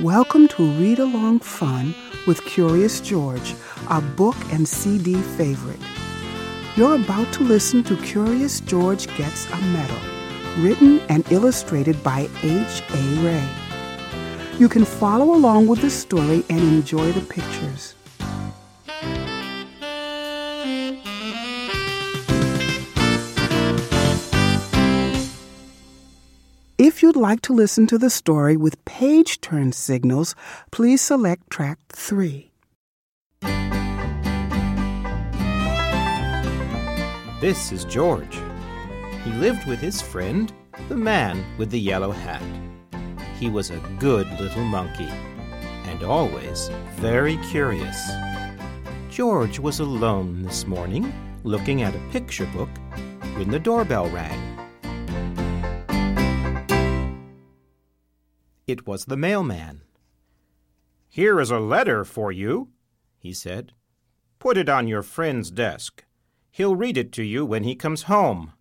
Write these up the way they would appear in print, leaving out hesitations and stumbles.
Welcome to Read Along Fun with Curious George, our book and CD favorite. You're about to listen to Curious George Gets a Medal, written and illustrated by H.A. Rey. You can follow along with the story and enjoy the pictures. If you'd like to listen to the story with page turn signals, please select track 3. This is George. He lived with his friend, the man with the yellow hat. He was a good little monkey, and always very curious. George was alone this morning, looking at a picture book, when the doorbell rang. It was the mailman. "Here is a letter for you," he said. "Put it on your friend's desk. He'll read it to you when he comes home."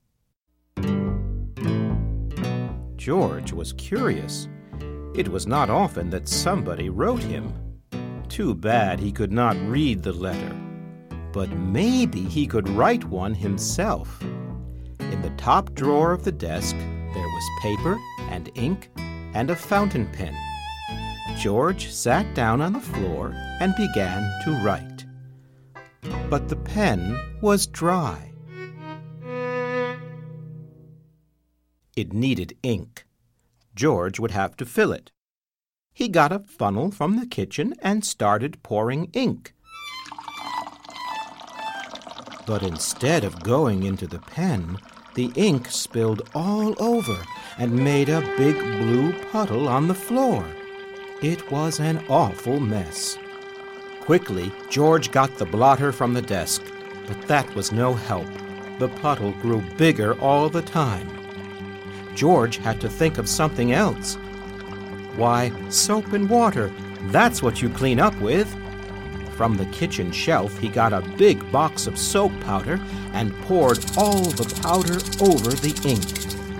George was curious. It was not often that somebody wrote him. Too bad he could not read the letter. But maybe he could write one himself. In the top drawer of the desk, there was paper and ink and a fountain pen. George sat down on the floor and began to write. But the pen was dry. It needed ink. George would have to fill it. He got a funnel from the kitchen and started pouring ink. But instead of going into the pen, the ink spilled all over and made a big blue puddle on the floor. It was an awful mess. Quickly, George got the blotter from the desk, but that was no help. The puddle grew bigger all the time. George had to think of something else. Why, soap and water, that's what you clean up with. From the kitchen shelf, he got a big box of soap powder and poured all the powder over the ink.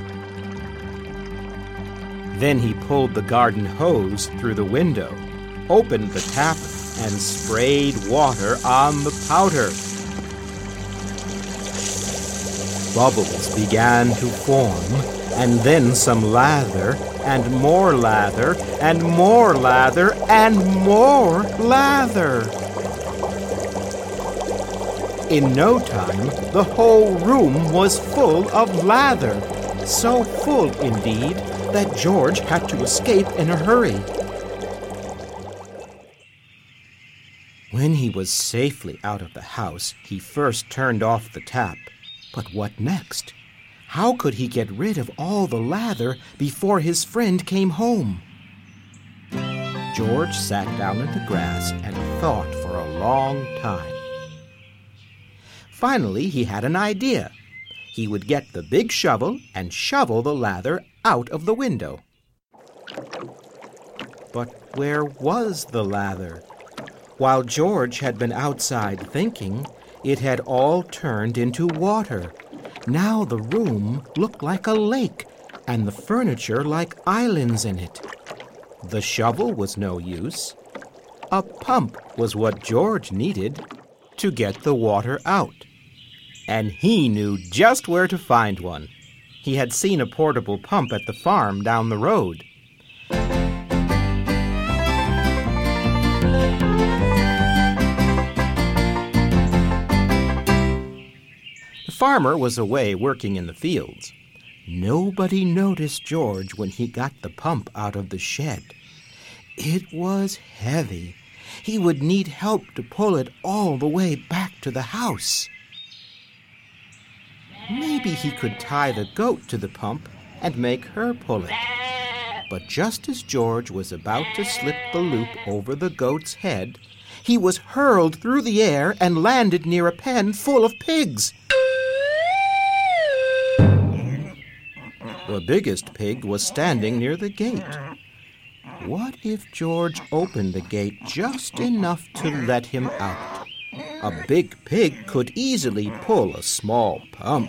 Then he pulled the garden hose through the window, opened the tap, and sprayed water on the powder. Bubbles began to form, and then some lather, and more lather, and more lather, and more lather. In no time, the whole room was full of lather, so full indeed that George had to escape in a hurry. When he was safely out of the house, he first turned off the tap. But what next? How could he get rid of all the lather before his friend came home? George sat down in the grass and thought for a long time. Finally, he had an idea. He would get the big shovel and shovel the lather out of the window. But where was the lather? While George had been outside thinking, it had all turned into water. Now the room looked like a lake, and the furniture like islands in it. The shovel was no use. A pump was what George needed to get the water out. And he knew just where to find one. He had seen a portable pump at the farm down the road. The farmer was away working in the fields. Nobody noticed George when he got the pump out of the shed. It was heavy. He would need help to pull it all the way back to the house. Maybe he could tie the goat to the pump and make her pull it. But just as George was about to slip the loop over the goat's head, he was hurled through the air and landed near a pen full of pigs. The biggest pig was standing near the gate. What if George opened the gate just enough to let him out? A big pig could easily pull a small pump.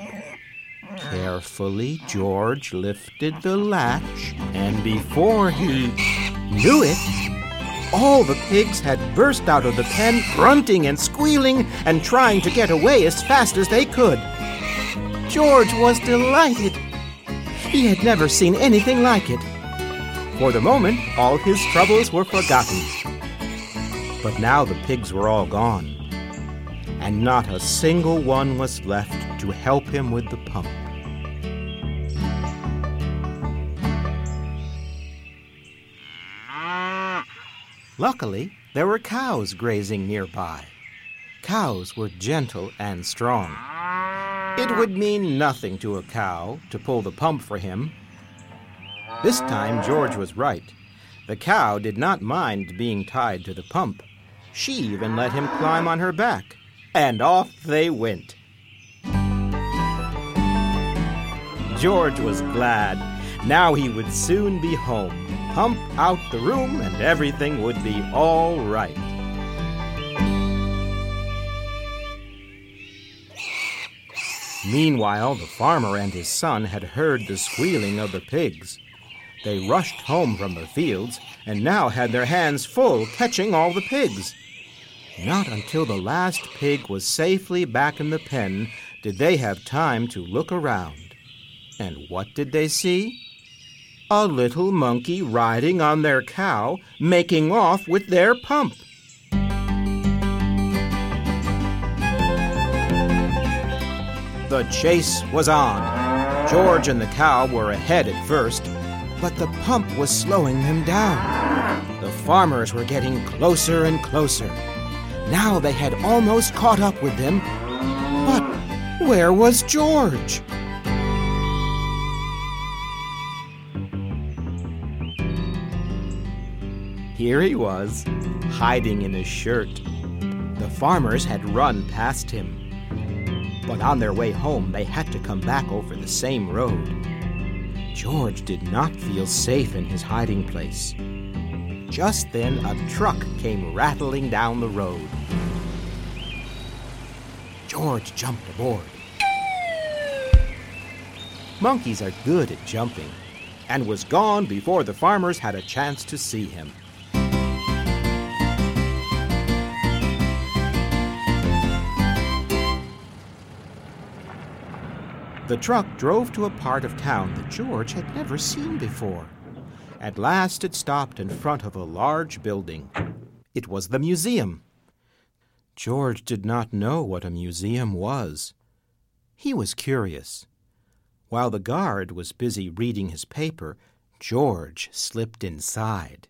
Carefully, George lifted the latch, and before he knew it, all the pigs had burst out of the pen, grunting and squealing and trying to get away as fast as they could. George was delighted. He had never seen anything like it. For the moment, all his troubles were forgotten. But now the pigs were all gone, and not a single one was left to help him with the pump. Luckily, there were cows grazing nearby. Cows were gentle and strong. It would mean nothing to a cow to pull the pump for him. This time, George was right. The cow did not mind being tied to the pump. She even let him climb on her back, and off they went. George was glad. Now he would soon be home. Pump out the room, and everything would be all right. Meanwhile, the farmer and his son had heard the squealing of the pigs. They rushed home from the fields and now had their hands full catching all the pigs. Not until the last pig was safely back in the pen did they have time to look around. And what did they see? A little monkey riding on their cow, making off with their pump. The chase was on. George and the cow were ahead at first, but the pump was slowing them down. The farmers were getting closer and closer. Now they had almost caught up with them. But where was George? Here he was, hiding in his shirt. The farmers had run past him. But on their way home, they had to come back over the same road. George did not feel safe in his hiding place. Just then, a truck came rattling down the road. George jumped aboard. Monkeys are good at jumping, and was gone before the farmers had a chance to see him. The truck drove to a part of town that George had never seen before. At last it stopped in front of a large building. It was the museum. George did not know what a museum was. He was curious. While the guard was busy reading his paper, George slipped inside.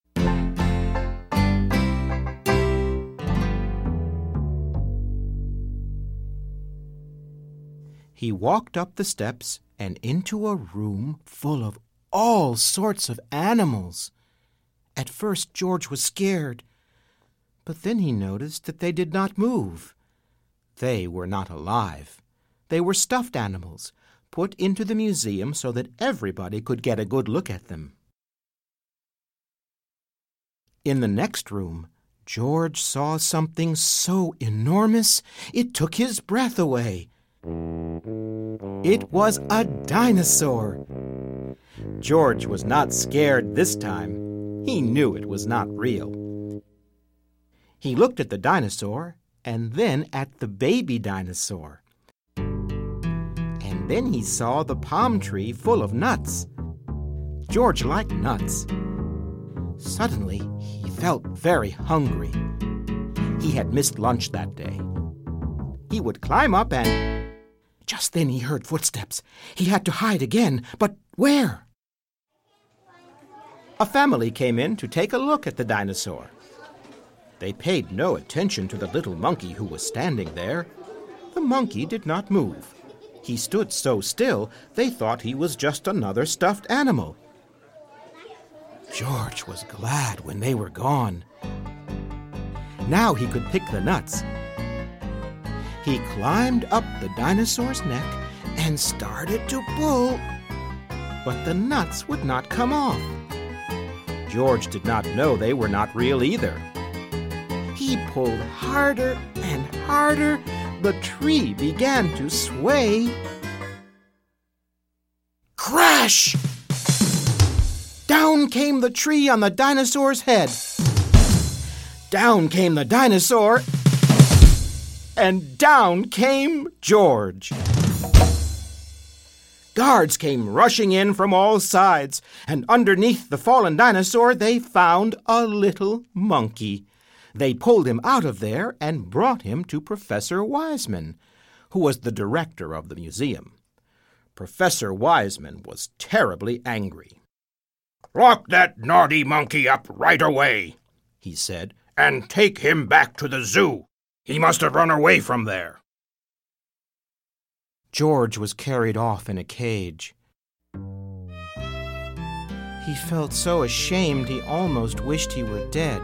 He walked up the steps and into a room full of all sorts of animals. At first, George was scared, but then he noticed that they did not move. They were not alive. They were stuffed animals, put into the museum so that everybody could get a good look at them. In the next room, George saw something so enormous it took his breath away. It was a dinosaur. George was not scared this time. He knew it was not real. He looked at the dinosaur and then at the baby dinosaur. And then he saw the palm tree full of nuts. George liked nuts. Suddenly, he felt very hungry. He had missed lunch that day. He would climb up and... Just then he heard footsteps. He had to hide again, but where? A family came in to take a look at the dinosaur. They paid no attention to the little monkey who was standing there. The monkey did not move. He stood so still, they thought he was just another stuffed animal. George was glad when they were gone. Now he could pick the nuts. He climbed up the dinosaur's neck and started to pull, but the nuts would not come off. George did not know they were not real either. He pulled harder and harder. The tree began to sway. Crash! Down down came the tree on the dinosaur's head. Down came the dinosaur, and down came George. Guards came rushing in from all sides, and underneath the fallen dinosaur they found a little monkey. They pulled him out of there and brought him to Professor Wiseman, who was the director of the museum. Professor Wiseman was terribly angry. "Lock that naughty monkey up right away," he said, "and take him back to the zoo. He must have run away from there." George was carried off in a cage. He felt so ashamed he almost wished he were dead.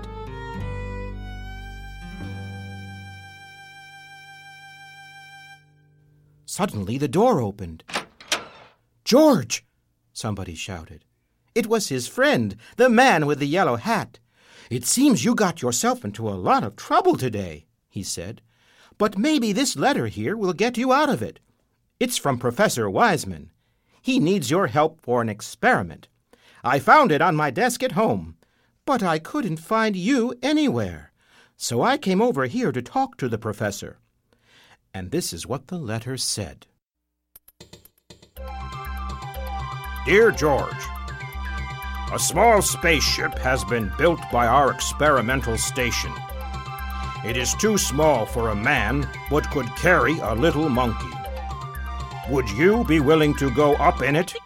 Suddenly the door opened. "George!" somebody shouted. It was his friend, the man with the yellow hat. "It seems you got yourself into a lot of trouble today," he said. "But maybe this letter here will get you out of it. It's from Professor Wiseman. He needs your help for an experiment. I found it on my desk at home, but I couldn't find you anywhere. So I came over here to talk to the professor." And this is what the letter said. Dear George, a small spaceship has been built by our experimental station. It is too small for a man, but could carry a little monkey. Would you be willing to go up in it?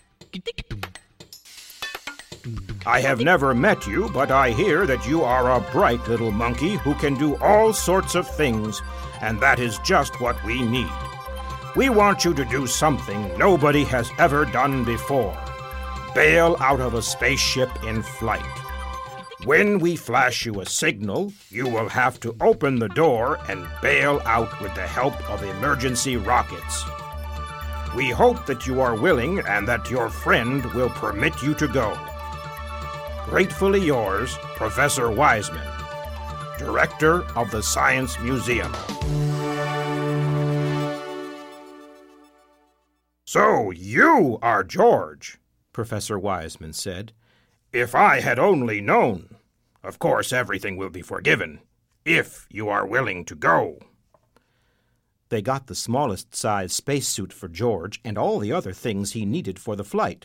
I have never met you, but I hear that you are a bright little monkey who can do all sorts of things, and that is just what we need. We want you to do something nobody has ever done before. Bail out of a spaceship in flight. When we flash you a signal, you will have to open the door and bail out with the help of emergency rockets. We hope that you are willing and that your friend will permit you to go. Gratefully yours, Professor Wiseman, Director of the Science Museum. So you are George, Professor Wiseman said. If I had only known. Of course, everything will be forgiven, if you are willing to go. They got the smallest size spacesuit for George and all the other things he needed for the flight.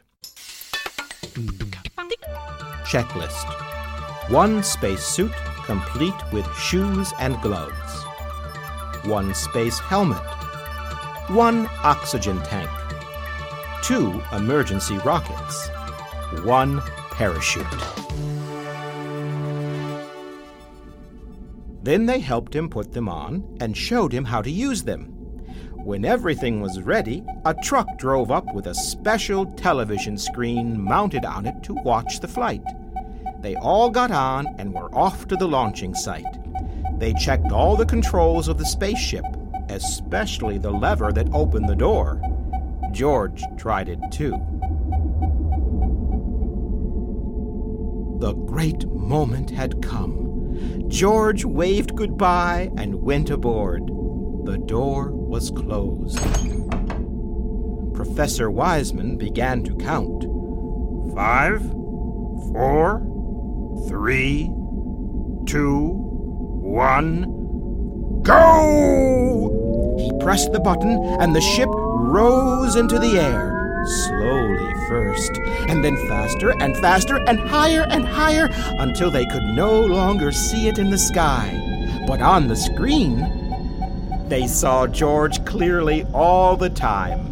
Checklist. 1 spacesuit, complete with shoes and gloves. 1 space helmet. 1 oxygen tank. 2 emergency rockets. 1 parachute. Then they helped him put them on and showed him how to use them. When everything was ready, a truck drove up with a special television screen mounted on it to watch the flight. They all got on and were off to the launching site. They checked all the controls of the spaceship, especially the lever that opened the door. George tried it too. The great moment had come. George waved goodbye and went aboard. The door was closed. Professor Wiseman began to count. 5, 4, 3, 2, 1, go! He pressed the button and the ship rose into the air. Slowly first, and then faster and faster and higher until they could no longer see it in the sky. But on the screen, they saw George clearly all the time.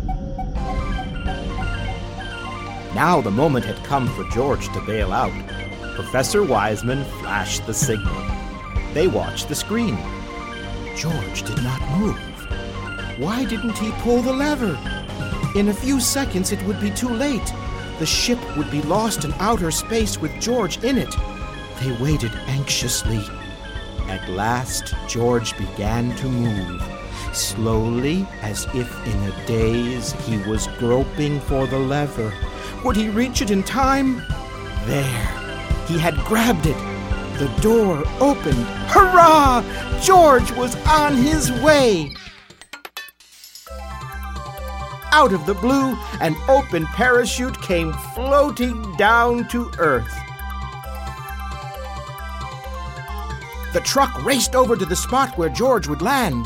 Now the moment had come for George to bail out. Professor Wiseman flashed the signal. They watched the screen. George did not move. Why didn't he pull the lever? In a few seconds it would be too late. The ship would be lost in outer space with George in it. They waited anxiously. At last, George began to move. Slowly, as if in a daze, he was groping for the lever. Would he reach it in time? There. He had grabbed it. The door opened. Hurrah! George was on his way! out of the blue, an open parachute came floating down to earth. The truck raced over to the spot where George would land.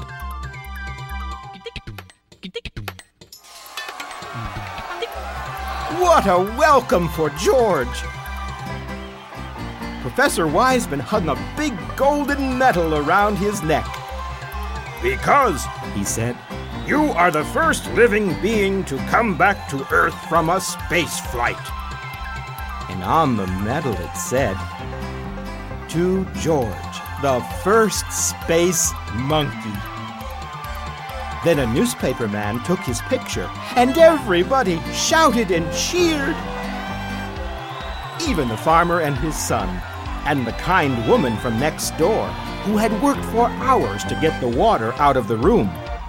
What a welcome for George! Professor Wiseman hung a big golden medal around his neck. "Because," he said, "you are the first living being to come back to Earth from a space flight." And on the medal it said, "To George, the first space monkey." Then a newspaper man took his picture, and everybody shouted and cheered. Even the farmer and his son, and the kind woman from next door, who had worked for hours to get the water out of the room.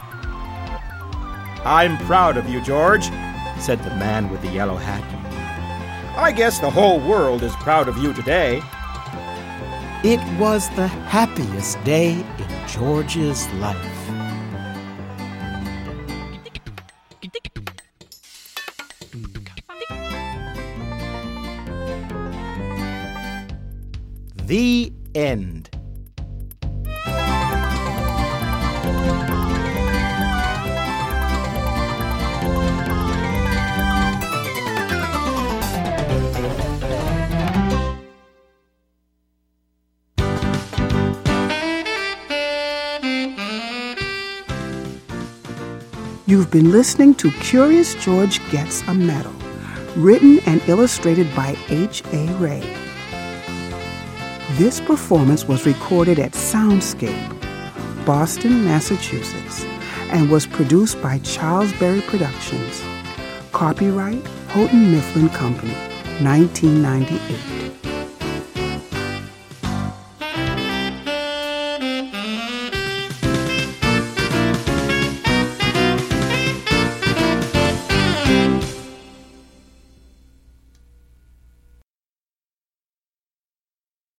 "I'm proud of you, George," said the man with the yellow hat. "I guess the whole world is proud of you today." It was the happiest day in George's life. The end. You've been listening to Curious George Gets a Medal, written and illustrated by H.A. Rey. This performance was recorded at Soundscape, Boston, Massachusetts, and was produced by Charles Berry Productions. Copyright Houghton Mifflin Company, 1998.